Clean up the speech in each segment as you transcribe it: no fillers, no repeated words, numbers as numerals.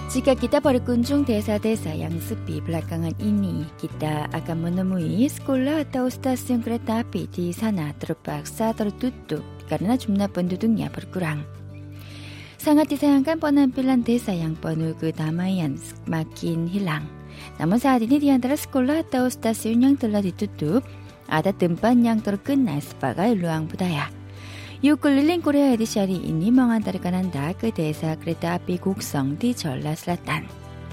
Jika kita berkunjung desa-desa yang sepi belakangan ini, kita akan menemui sekolah atau stasiun kereta api di sana terpaksa tertutup karena jumlah penduduknya berkurang. Sangat disayangkan penampilan desa yang penuh kedamaian semakin hilang. Namun saat ini di antara sekolah atau stasiun yang telah ditutup, ada tempat yang terkenal sebagai ruang budaya. Yuk keliling Korea edisi ini mengantarkan Anda ke desa kereta api Goksong di Jeolla Selatan.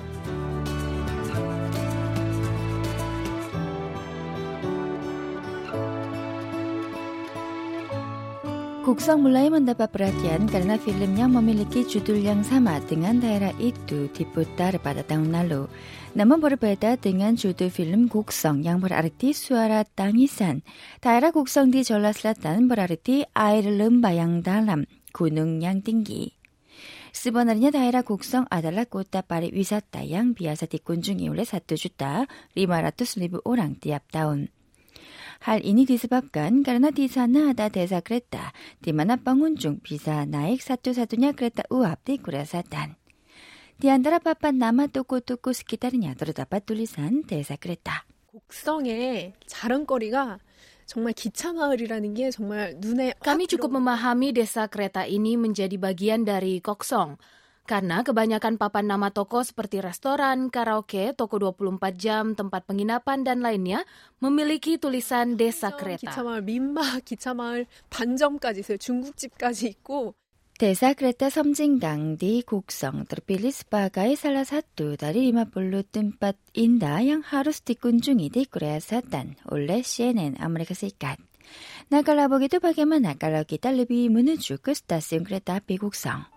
Goksong mulai mendapat perhatian karena filmnya memiliki judul yang sama dengan daerah itu diputar pada tahun lalu. Namun berbeda dengan judul film Goksong yang berarti suara tangisan. Daerah Goksong di Jeolla Selatan berarti air lembah yang dalam, gunung yang tinggi. Sebenarnya daerah Goksong adalah kota pariwisata yang biasa dikunjungi oleh 1.500.000 orang tiap tahun. Hal ini disebabkan karena di sana ada desa kereta, di mana pengunjung bisa naik satu-satunya kereta uap di Korea Selatan. Di antara papan nama toko-toko sekitarnya terdapat tulisan desa kereta. 곡성의 자랑거리가 정말 기차 마을이라는 게 정말 눈에 Kami cukup memahami desa kereta ini menjadi bagian dari Goksong. Karena kebanyakan papan nama toko seperti restoran, karaoke, toko 24 jam, tempat penginapan, dan lainnya memiliki tulisan desa kereta. 기차마을, 민마 기차마을 반점까지 있어요. 중국집까지 있고. Desa kereta Somjingang di Goksong terpilih sebagai salah satu dari 50 tempat indah yang harus dikunjungi di Korea Selatan oleh CNN Amerika Serikat. Nah, kalau begitu bagaimana kalau kita lebih menuju ke stasiun kereta api Goksong?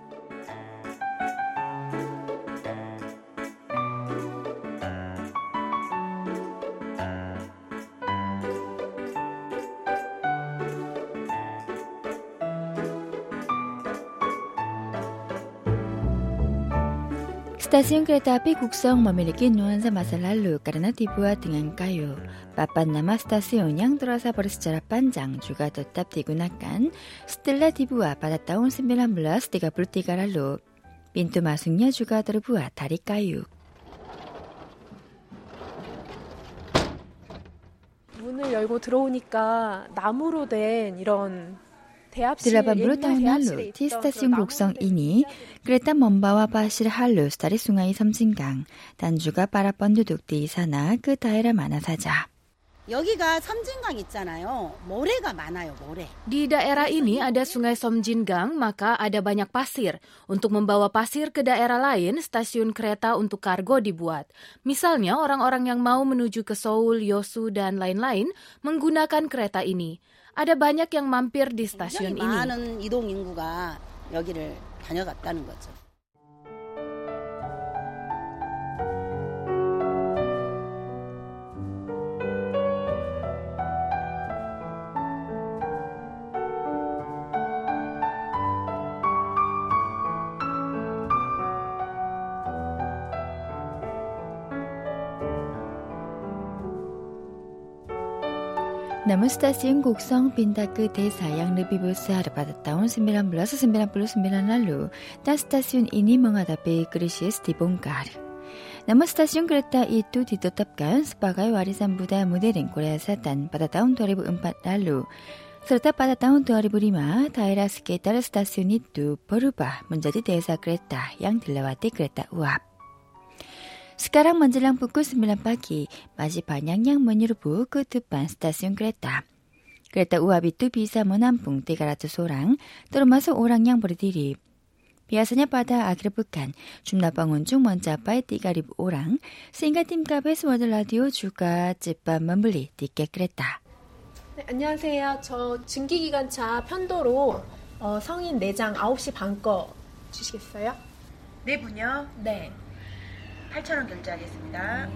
Stasiun kereta api Goksong memiliki nuansa masa lalu karena dibuat dengan kayu. Papan nama stasiun yang terasa bersejarah panjang juga tetap digunakan setelah dibuat pada tahun 1933 lalu. Pintu masuknya juga terbuat dari kayu. 문을 열고 들어오니까 나무로 된 이런 80 tahun lalu, di stasiun Goksong ini, kereta membawa pasir halus dari sungai Somjingang dan juga para penduduk di sana ke daerah mana saja. 여기가 섬진강 있잖아요. 모래가 많아요, 모래. Di daerah ini ada sungai Somjingang, maka ada banyak pasir. Untuk membawa pasir ke daerah lain, stasiun kereta untuk kargo dibuat. Misalnya, orang-orang yang mau menuju ke Seoul, Yosu, dan lain-lain menggunakan kereta ini. Ada banyak yang mampir di stasiun ini. 많은 이동 인구가 여기를 다녀갔다는 거죠. Namun stasiun Goksong pindah ke desa yang lebih besar pada tahun 1999 lalu dan stasiun ini menghadapi krisis dibongkar. Namun stasiun kereta itu ditetapkan sebagai warisan budaya modern Korea Selatan pada tahun 2004 lalu. Serta pada tahun 2005, daerah sekitar stasiun itu berubah menjadi desa kereta yang dilewati kereta uap. Sekarang menjelang pukul 9 pagi, masih banyak yang menyerbu ke depan stasiun kereta. Kereta uap itu bisa menampung 300 orang, termasuk orang yang berdiri. Biasanya pada akhir pekan, jumlah pengunjung mencapai 3.000 orang, sehingga tim KBS World Radio juga cepat membeli tiket kereta. 네, 안녕하세요. 저 증기기관차 편도로 성인 4장 9시 반 거 주시겠어요? 네 분요? 네. 8,000원 결제하겠습니다.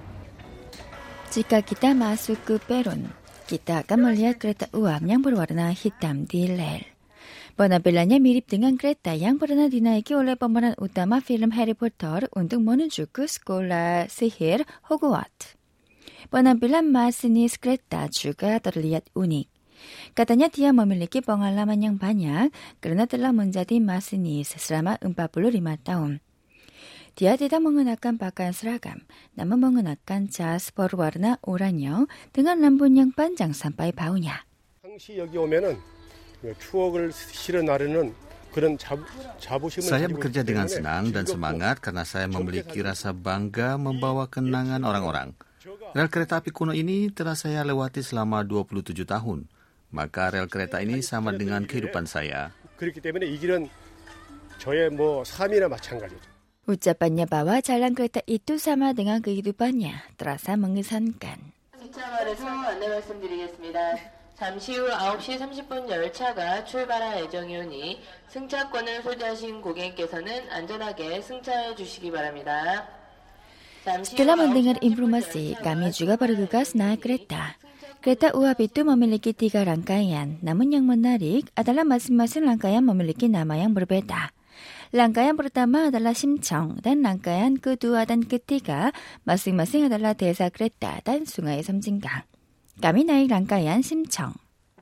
Jika kita masuk ke peron, kita akan melihat kereta uap yang berwarna hitam di rel. Penampilannya mirip dengan kereta yang pernah dinaiki oleh pemeran utama film Harry Potter untuk menuju ke sekolah sihir Hogwarts. Penampilan masinis kereta juga terlihat unik. Katanya dia memiliki pengalaman yang banyak karena telah menjadi masinis selama 45 tahun. Dia tidak mengenakan pakaian seragam, namun mengenakan jas berwarna oranye dengan rambut yang panjang sampai bahunya. 항시 여기 오면은 추억을 실어 나르는 그런 자부심을 Saya bekerja dengan senang dan semangat karena saya memiliki rasa bangga membawa kenangan orang-orang. Rel kereta api kuno ini telah saya lewati selama 27 tahun. Maka rel kereta ini sama dengan kehidupan saya. 그렇기 때문에 이 길은 저의 삶이나 마찬가지죠. Ucapannya bahwa jalan kereta itu sama dengan kehidupannya terasa mengesankan. 기차말에서 안내 말씀드리겠습니다. 잠시 후 9시 30분 열차가 출발할 예정이오니 승차권을 소지하신 고객께서는 안전하게 승차해 주시기 바랍니다. Setelah mendengar informasi, kami juga bergegas naik kereta. Kereta uap itu memiliki 3 rangkaian, namun yang menarik adalah masing-masing rangkaian memiliki nama yang berbeda. Rangkaian pertama adalah 심청 dan rangkaian kedua dan ketiga masing-masing adalah desa kereta dan sungai 섬진강. Kami naik rangkaian 심청.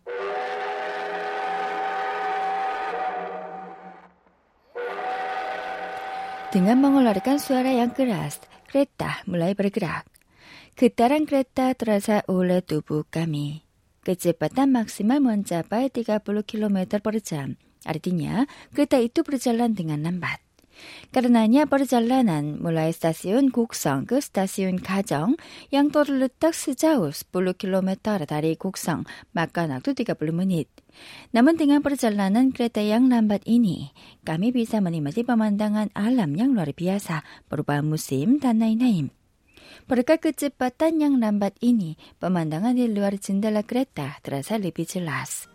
Dengan mengeluarkan suara yang keras, kereta mulai bergerak. Getaran kereta terasa oleh tubuh kami. Kecepatan maksimal mencapai 30 km per jam. Artinya, kereta itu berjalan dengan lambat. Karenanya perjalanan mulai stasiun Gukseong ke stasiun Gajong yang terletak sejauh 10 km dari Gukseong, makan waktu 30 menit. Namun dengan perjalanan kereta yang lambat ini, kami bisa menikmati pemandangan alam yang luar biasa, perubahan musim dan lain-lain. Berkat kecepatan yang lambat ini, pemandangan di luar jendela kereta terasa lebih jelas.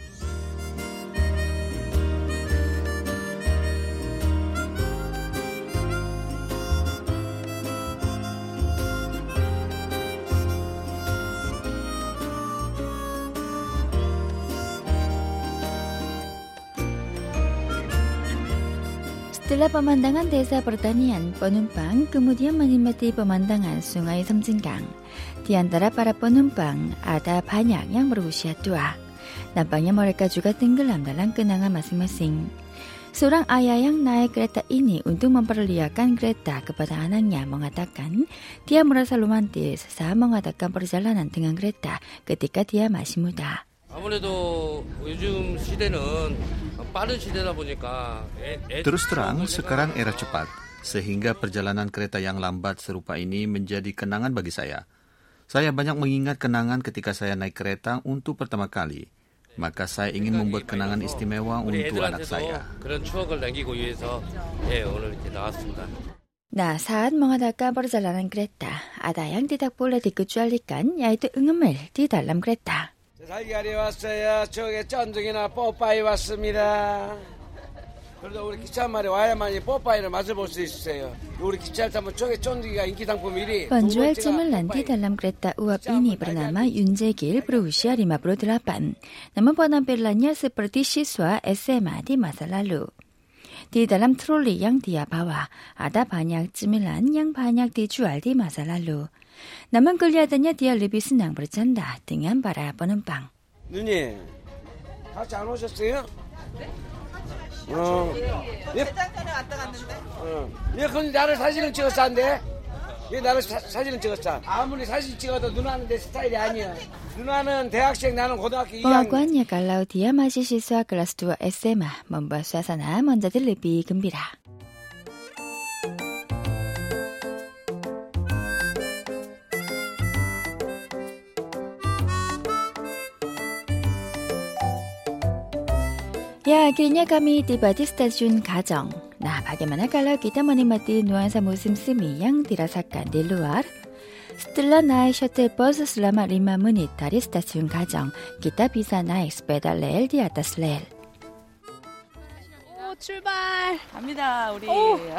Setelah pemandangan desa pertanian, penumpang kemudian menikmati pemandangan sungai 섬진강. Di antara para penumpang, ada banyak yang berusia tua. Nampaknya mereka juga tenggelam dalam kenangan masing-masing. Seorang ayah yang naik kereta ini untuk memperlihatkan kereta kepada anaknya mengatakan dia merasa romantis saat mengadakan perjalanan dengan kereta ketika dia masih muda. 아무래도 요즘 시대는 빠른 시대다 보니까 Terus terang, sekarang era cepat, sehingga perjalanan kereta yang lambat serupa ini menjadi kenangan bagi saya. Saya banyak mengingat kenangan ketika saya naik kereta untuk pertama kali. Maka saya ingin membuat kenangan istimewa untuk anak saya. 그런 추억을 남기고 위해서 오늘 이렇게 나왔습니다. Nah, saat mengadakan perjalanan kereta, ada yang tidak boleh dikecualikan, yaitu 응음을 di dalam kereta. 달걀이 왔어요. 저게 쫀득이나 뽀빠이 왔습니다. 그래도 우리 기차말에 와야만이 뽀빠이를 맛을 볼 수 있어요. 우리 기차를 타면 저게 쫀득이가 인기 상품 1위. Penjual cemilan di dalam kereta uap ini bernama Yunjegil, berusia 58. Namun penampilannya seperti siswa SMA di masa lalu. Di dalam troli yang dia bawa, ada banyak cemilan yang banyak dijual di masa lalu. Namun kelihatannya dia lebih senang bercanda dengan para penumpang. 누님, 같이 안 오셨어요? 매장 전에 왔다 갔는데. 얘 근데 나를 사진을 찍었었는데? 얘 나를 사진을 찍었어. 아무리 사진 찍어도 누나는 내 스타일이 아니야. 누나는 대학생, 나는 고등학교 2학년. Pengakuannya kalau dia masih siswa kelas 2 SMA, membuat suasana menjadi lebih gembira. Ya, akhirnya kami tiba di stasiun Gajong. Nah, bagaimana kalau kita menikmati nuansa musim semi yang dirasakan di luar? Setelah naik shuttle bus selama 5 menit dari stasiun Gajong, kita bisa naik sepeda rel di atas rel. 오, 출발. 갑니다, 우리.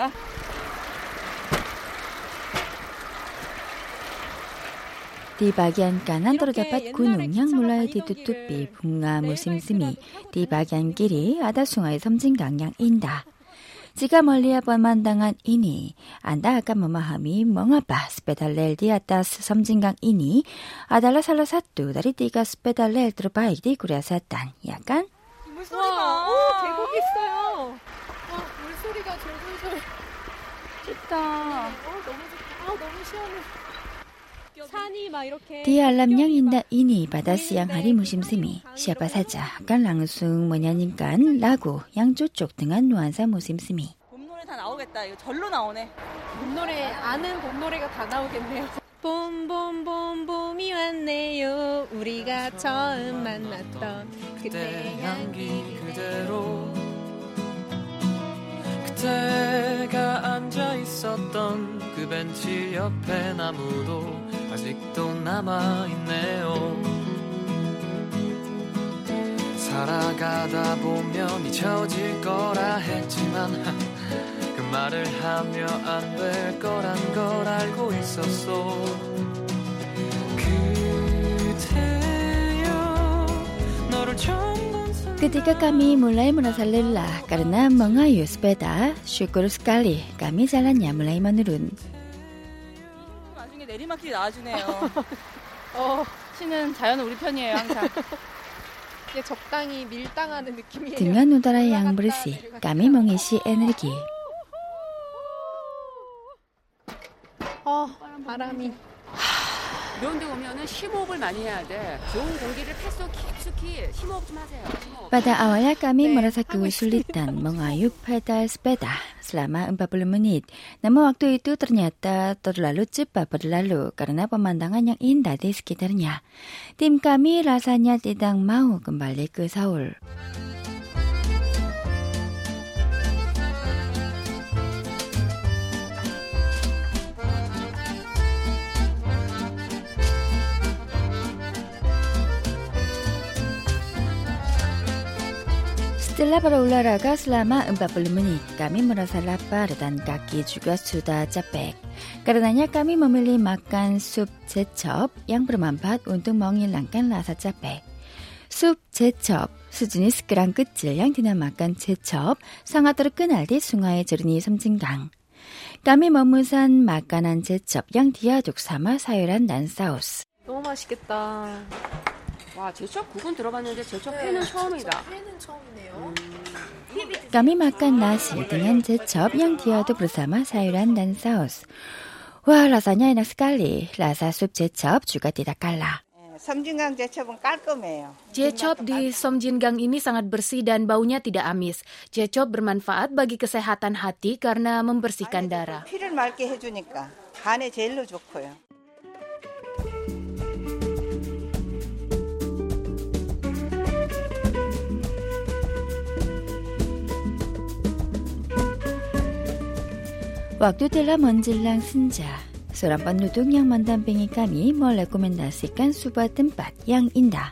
Di bagian kanan terdapat gunung yang mulai ditutupi bunga musim semi. Di bagian kiri ada sungai 섬진강 yang indah. Jika melihat pemandangan ini, Anda akan memahami mengapa sepeda rel di atas 섬진강 ini adalah salah satu dari 3 sepeda rel terbaik di Korea Selatan, ya kan? 물소리가, 오, 계곡 있어요. 와, 물소리가 졸졸졸. 좋다. 예쁘다. 너무 시원해. 산이 막 이렇게. Di alam yang indah ini pada siang hari musim semi, siapa saja akan langsung menyanyikan lagu yang cocok dengan nuansa musim semi. 봄 노래 다 나오겠다. 이거 절로 나오네. 봄 노래 아는 봄 노래가 다 나오겠네요. 봄이 왔네요. 우리가 처음 만났던 그때 향기 그대로 그때가 앉아 있었던 그 벤치 옆에 나무도 아직도 남아 있네요. 살아가다 보면 잊혀질 거라 했지만 그 말을 하며 안 될 거란 걸 알고 있었어. 그대여 너를 처음 Ketika kami mulai merasa lelah karena mengayuh sepeda, syukur sekali kami jalannya mulai menurun. 나중에 내리막길이 나와주네요. 시는 자연은 우리 편이에요, 항상. 이게 적당히 밀당하는 느낌이에요. Dengan udara yang bersih, kami mengisi energi. 바람이. 이런 데 오면은 심호흡을 많이 해야 돼. 좋은 공기를 폐속 깊숙이 심호흡 좀 하세요. Pada awalnya kami merasa kesulitan mengayuh pedal sepeda selama 40 menit. Namun waktu itu ternyata terlalu cepat berlalu karena pemandangan yang indah di sekitarnya. Tim kami rasanya tidak mau kembali ke Seoul. Setelah berolahraga selama 40 menit, kami merasa lapar dan kaki juga sudah capek. Karenanya kami memilih makan sup 제첩 yang bermanfaat untuk menghilangkan rasa capek. Sup 제첩, 수준이 sekarang kecil yang dinamakan 제첩, sangat terkenal di Sungai Jernih 섬진강. Kami memesan makanan 제첩 yang diaduk sama sayuran dan saus. 너무 맛있겠다. 와, 제첩 국은 들어봤는데 제첩 회는 처음이다. 회는 처음이네요. Kami makan nasi dengan 제첩 yang diaduk bersama sayuran dan saus. Wah, rasanya enak sekali. Rasa sup 제첩 juga tidak kalah. 섬진강 제첩은 깔끔해요. 제첩 di 섬진강 ini sangat bersih dan baunya tidak amis. 제첩 bermanfaat bagi kesehatan hati karena membersihkan darah. 피를 맑게 해주니까 간에 제일로 좋고요. Waktu telah menjelang senja, seorang penduduk yang mendampingi kami merekomendasikan sebuah tempat yang indah.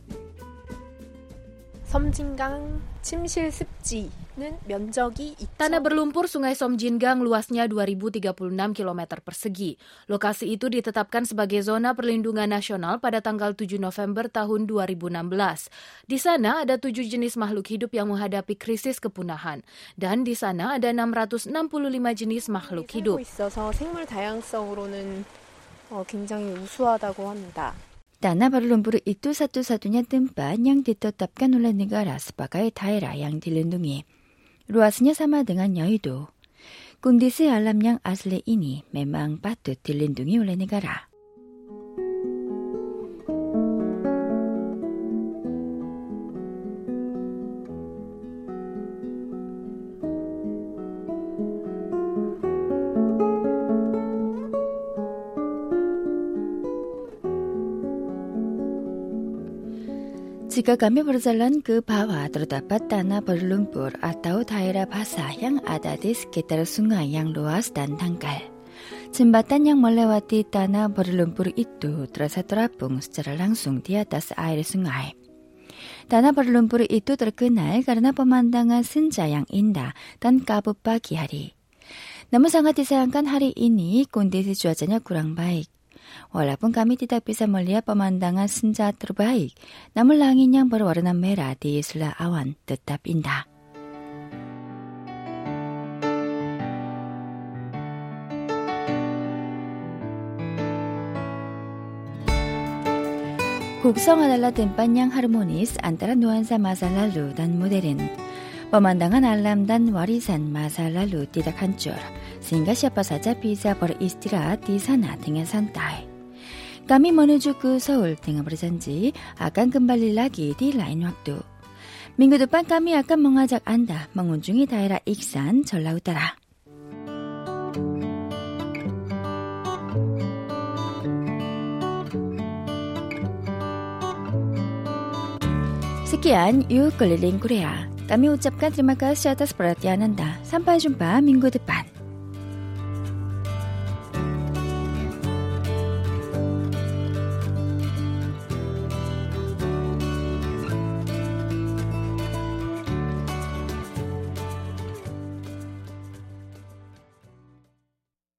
섬진강 침실 습지는 면적이 Tanah berlumpur Sungai Somjingang luasnya 2036 km persegi. Lokasi itu ditetapkan sebagai zona perlindungan nasional pada tanggal 7 November tahun 2016. Di sana ada 7 jenis makhluk hidup yang menghadapi krisis kepunahan. Dan di sana ada 665 jenis makhluk hidup. 있어서 생물 다양성으로는 굉장히 우수하다고 합니다. Tanah berlumpur itu satu-satunya tempat yang ditetapkan oleh negara sebagai daerah yang dilindungi. Luasnya sama dengan Yeouido. Kondisi alam yang asli ini memang patut dilindungi oleh negara. Jika kami berjalan ke bawah, terdapat tanah berlumpur atau daerah basah yang ada di sekitar sungai yang luas dan dangkal. Jembatan yang melewati tanah berlumpur itu terasa terapung secara langsung di atas air sungai. Tanah berlumpur itu terkenal karena pemandangan senja yang indah dan kabut pagi hari. Namun sangat disayangkan hari ini kondisi cuacanya kurang baik. Walaupun kami tidak bisa melihat pemandangan senja terbaik, namun langit yang berwarna merah di sela awan tetap indah. Goksong adalah tempat yang harmonis antara nuansa masa lalu dan modern. Pemandangan alam dan warisan masa lalu tidak hancur, sehingga siapa saja bisa beristirahat di sana dengan santai. Kami menuju ke Seoul dengan berjanji akan kembali lagi di lain waktu. Minggu depan kami akan mengajak Anda mengunjungi daerah Iksan, 전라 Utara. Sekian Yuk Keliling Korea. Kami ucapkan terima kasih atas perhatian Anda. Sampai jumpa minggu depan.